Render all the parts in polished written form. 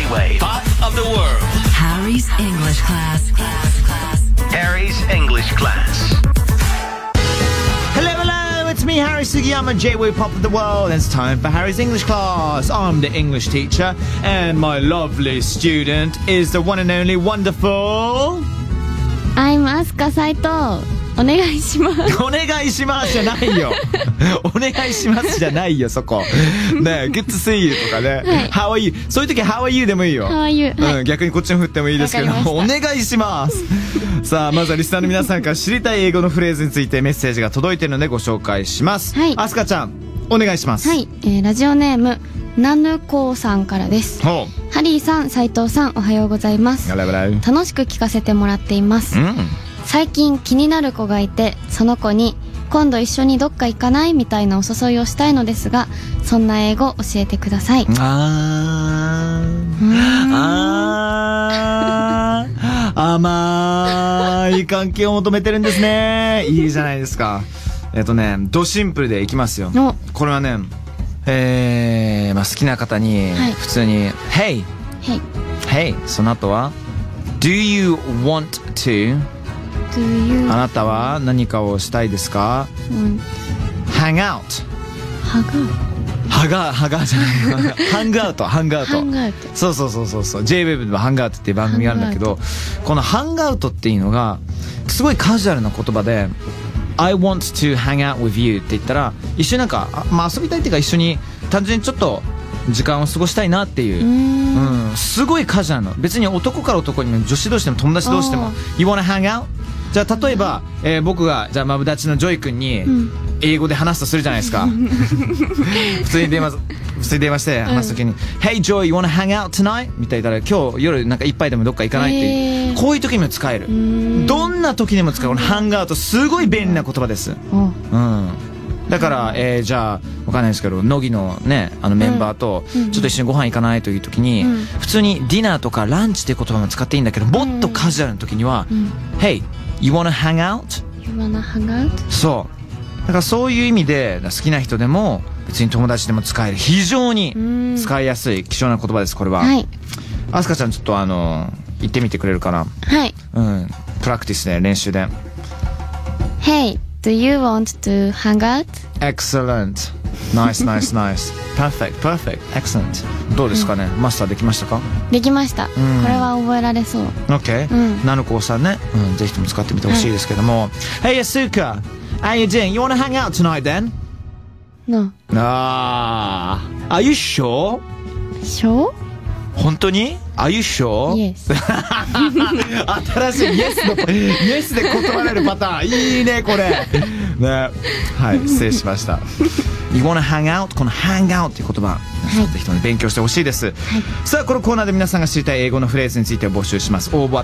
J-Wave Pop of the World. Harry's English Class. Harry's English Class. Hello, hello, it's me, Harry Sugiyama, J-Wave Pop of the World. It's time for Harry's English Class. I'm the English teacher, and my lovely student is the one and only wonderful... I'm Asuka Saito. お願いします。 お願いしますじゃないよ。お願いしますじゃないよ、そこ。ねえ、Good to see you とかね。How are you? そういう時 How are you でもいいよ。 How are you? うん、逆にこっちも振ってもいいですけども、お願いします。さあ、まずはリスナーの皆さんから知りたい英語のフレーズについてメッセージが届いているのでご紹介します。 はい。 あすかちゃん、お願いします。 はい、ラジオネームナヌコーさんからです。 ほう。 ハリーさん、斉藤さん、おはようございます。楽しく聞かせてもらっています。最近気になる子がいて、その子に今度一緒にどっか行かないみたいなお誘いをしたいのですが、そんな英語教えてください。 甘い関係を求めてるんですね。いいじゃないですか。ドシンプルでいきますよ。これはね、まあ、好きな方に普通に、Hey! Hey! その後は Do you want to? あなたは何かをしたいですか？ Hang out. ハガーじゃない。ハングアウト。そう。J-Wave でもハングアウトっていう番組があるんだけど、このハングアウトっていうのがすごいカジュアルな言葉で、I want to hang out with you って言ったら、一緒になんか、まあ遊びたいっていうか一緒に単純にちょっと時間を過ごしたいなっていう、すごいカジュアルな、別に男から男にも女子同士でも友達同士でも You wanna hang out? じゃあ例えば、僕がじゃあマブダチのジョイ君に英語で話すとするじゃないですか。普通に電話して話すときに、Hey Joy, you wanna hang out tonight? みたいなら、今日夜なんか一杯でもどっか行かないっていう、こういう時にも使える。どんな時にも使うこのハングアウト、すごい便利な言葉です。だから、じゃあわかんないですけど、乃木のね、メンバーとちょっと一緒にご飯行かないという時に、普通にディナーとかランチっていう言葉も使っていいんだけど、もっとカジュアルな時には、Hey, you wanna hang out? そう。だからそういう意味で好きな人でも別に友達でも使える、非常に使いやすい貴重な言葉です。これは。あすかちゃん、ちょっと言ってみてくれるかな。 はい。 プラクティスで、練習で。 Hey, do you want to hang out? Excellent. Nice. Perfect. Excellent. どうですかね、マスターできましたか？ できました。これは覚えられそう。 OK。ナヌコさんね、ぜひとも使ってみてほしいですけども。Hey Asuka, how you doing? You wanna hang out tonight then? No. Are you sure? Sure? 本当に？ Are you sure? Yes. 新しいイエスで断られるパターン。いいね、これ。ね。はい、失礼しました。You wanna hang out? この hang out っていう言葉、ぜひとも勉強してほしいです。さあ、このコーナーで皆さんが知りたい英語のフレーズについて募集します。応募は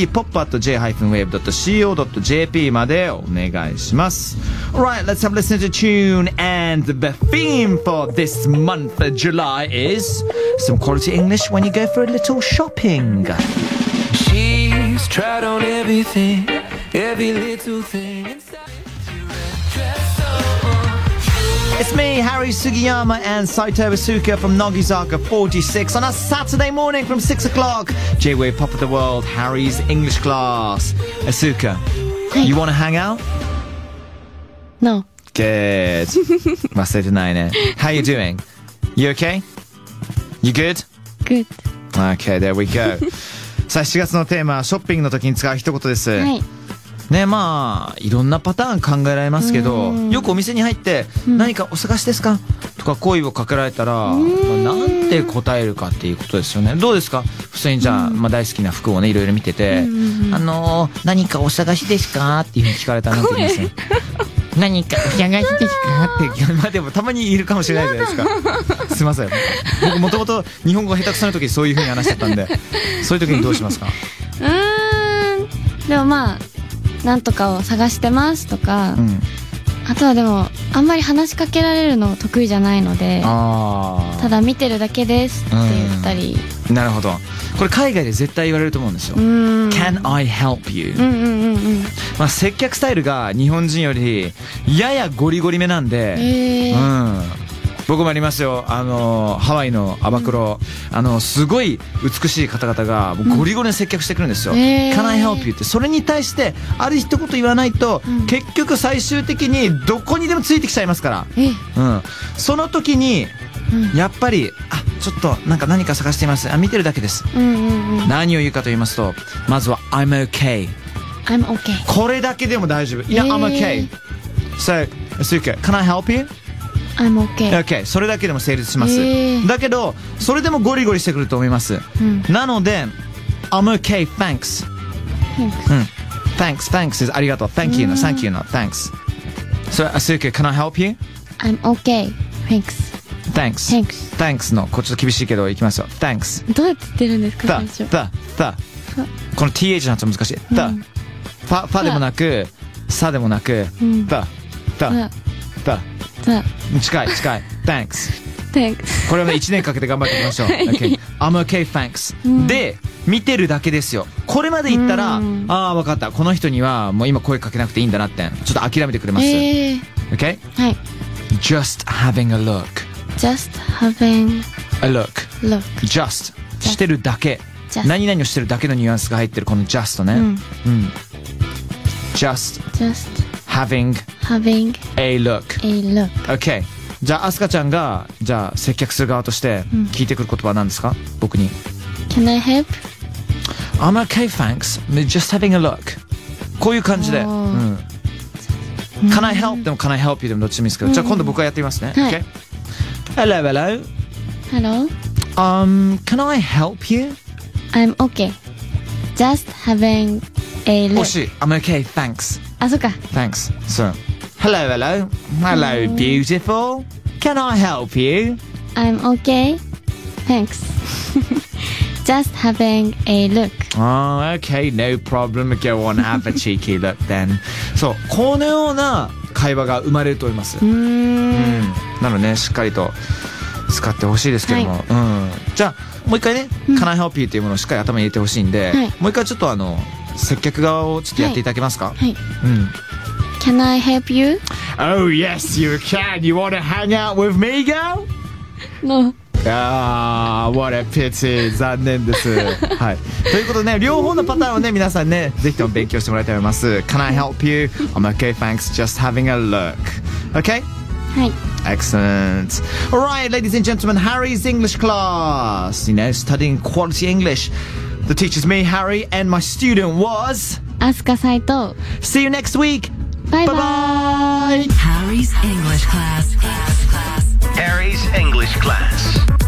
pop.j-wave.co.jp までお願いします。Alright, let's have a listen to the tune, and the theme for this month of July is some quality English when you go for a little shopping. She's tried on everything, every little thing. It's me, Harry Sugiyama, and Saito Asuka from Nogizaka 46 on a Saturday morning from 6 o'clock. J-Wave Pop of the World, Harry's English Class. Asuka, you want to hang out? No. Good. 忘れてないね。How you doing? You okay? You good? Good. Okay, there we go. さあ、7月のテーマはショッピングの時に使う一言です。 はい。 ね、まあいろんなパターン考えられますけど、よくお店に入って何かお探しですかとか声をかけられたら、なんて答えるかっていうことですよね。どうですか？普通にじゃあ、大好きな服をねいろいろ見てて、何かお探しですかっていうふうに聞かれたらなんて言いますね。何かお探しですかって、まあでもたまにいるかもしれないじゃないですか。すいません。僕もともと日本語が下手くそな時そういうふうに話しちゃったんで、そういう時にどうしますか？ でもまあなんとかを探してますとか、あとはでもあんまり話しかけられるの得意じゃないので、ただ見てるだけですって言ったり。 なるほど。これ海外で絶対言われると思うんですよ。Can I help you? まあ接客スタイルが日本人よりややゴリゴリめなんで、 僕もありますよ。ハワイのアバクロ、すごい美しい方々がゴリゴリに接客してくるんですよ。Can I help you って、それに対してある一言言わないと、結局最終的にどこにでもついてきちゃいますから。その時にやっぱりちょっと何か探しています。見てるだけです。何を言うかと言いますと、まずは I'm okay。 I'm okay。 これだけでも大丈夫。いや、I'm okay。 So Asuka, can I help you? I'm okay。 Okay、 それだけでも成立します。だけどそれでもゴリゴリしてくると思います。なので I'm okay, thanks。 Thanks is ありがとう。 Thank you の Thank you の Thanks。 So Asuka, can I help you? I'm okay, thanks。 Thanks のちょっと厳しいけどいきますよ。 Thanks。 どうやって言ってるんですか最初。 この TH の発音難しい。ファでもなくサでもなく近い Thanks。 これをね1年かけて頑張っていきましょう。Okay。 I'm okay, thanks。 で見てるだけですよ。これまで言ったら分かった、この人にはもう今声かけなくていいんだなってちょっと諦めてくれます。Okay。 はい。 Just having a look。 Just having a look。 Just してるだけ、何々をしてるだけのニュアンスが入ってるこの just ね。Just having a look。 Okay。 じゃあアスカちゃんが接客する側として聞いてくる言葉は何ですか？僕に。 Can I help? I'm okay, thanks. Just having a look。 こういう感じで。Can I help でも Can I help you でもどっちでもいいですけど、じゃあ今度僕がやってみますね。Okay。 Hello。 Can I help you? I'm okay. Just having a look。 惜しい。I'm okay, thanks。 そっか。 Thanks。そう。Hello, beautiful. Can I help you? I'm okay, thanks. Just having a look. Oh, okay, no problem. Go on, have a cheeky look then. そう、このような会話が生まれると思います。なのでね、しっかりと使ってほしいですけども、じゃあもう一回ね、Can I help you というものをしっかり頭に入れてほしいんで、もう一回ちょっと接客側をちょっとやっていただけますか？ Can I help you? Oh yes, you can. You want to hang out with me, girl? No. What a pity. 残念です。はい。ということでね、両方のパターンをね、皆さんね、ぜひとも勉強してもらいたいと思います。Can I help you? I'm okay, thanks. Just having a look. Okay? はい。 Excellent. All right, ladies and gentlemen, Harry's English class. You know, studying quality English. The teacher's me, Harry, and my student was Asuka Saito. See you next week. Bye bye. Harry's English class. Harry's English class.